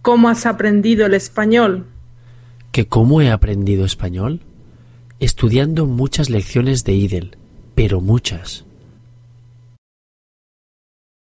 ¿Cómo has aprendido el español? ¿Que cómo he aprendido español? Estudiando muchas lecciones de Idel, pero muchas.